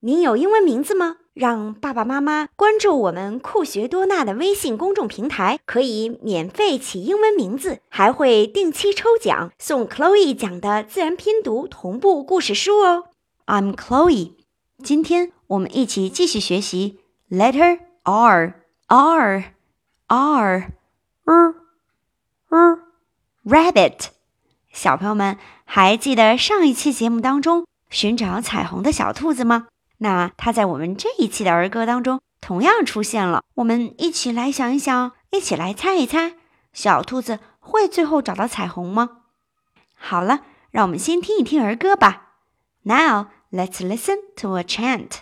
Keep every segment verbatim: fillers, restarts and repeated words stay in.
您有英文名字吗？让爸爸妈妈关注我们酷学多纳的微信公众平台，可以免费起英文名字，还会定期抽奖送 Chloe 讲的自然拼读同步故事书哦。I'm Chloe， 今天我们一起继续学习 Letter R R R R R Rabbit。小朋友们还记得上一期节目当中寻找彩虹的小兔子吗？那它在我们这一期的儿歌当中同样出现了。我们一起来想一想，一起来猜一猜，小兔子会最后找到彩虹吗？好了，让我们先听一听儿歌吧。Now, let's listen to a chant.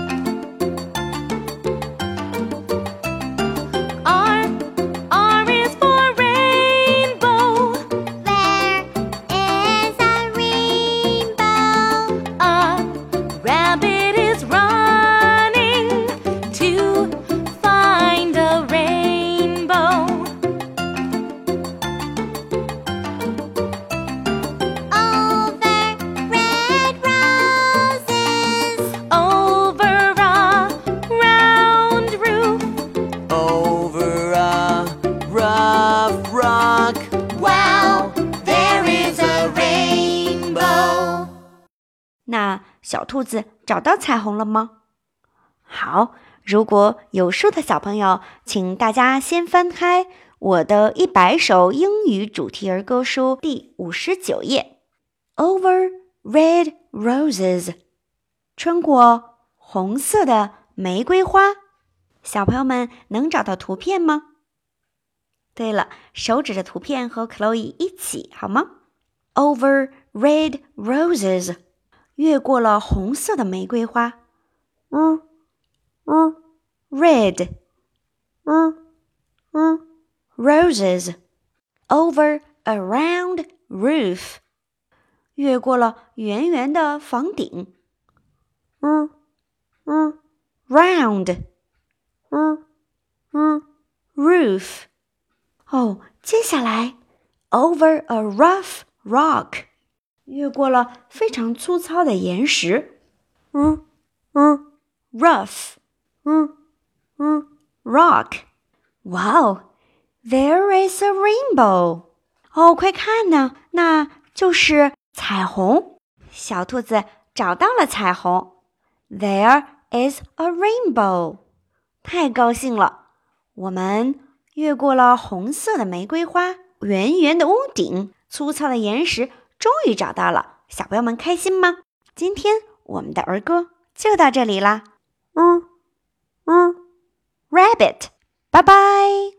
那小兔子找到彩虹了吗？好，如果有书的小朋友，请大家先翻开我的一百首英语主题儿歌书第五十九页 Over Red Roses， 穿过红色的玫瑰花。小朋友们能找到图片吗？对了，手指着图片和 Chloe 一起好吗？ Over Red Roses，越过了红色的玫瑰花，嗯嗯 ，red， 嗯嗯 ，roses， over a round roof， 越过了圆圆的房顶，嗯嗯 ，round， 嗯嗯 ，roof， 哦，接下来 over a rough rock。越过了非常粗糙的岩石，嗯嗯 ，rough， 嗯嗯 ，rock， 哇哦 ，there is a rainbow， 哦，快看呢，那就是彩虹。小兔子找到了彩虹 ，there is a rainbow， 太高兴了。我们越过了红色的玫瑰花，圆圆的屋顶，粗糙的岩石。终于找到了，小朋友们开心吗？今天我们的儿歌就到这里啦。嗯嗯 ，Rabbit， 拜拜。